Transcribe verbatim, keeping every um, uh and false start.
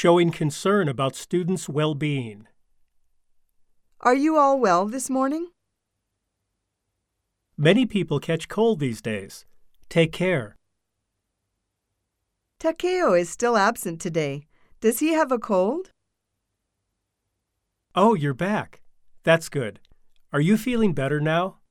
showing concern about students' well-being. Are you all well this morning? Many people catch cold these days. Take care. Takeo is still absent today. Does he have a cold? Oh, you're back. That's good. Are you feeling better now?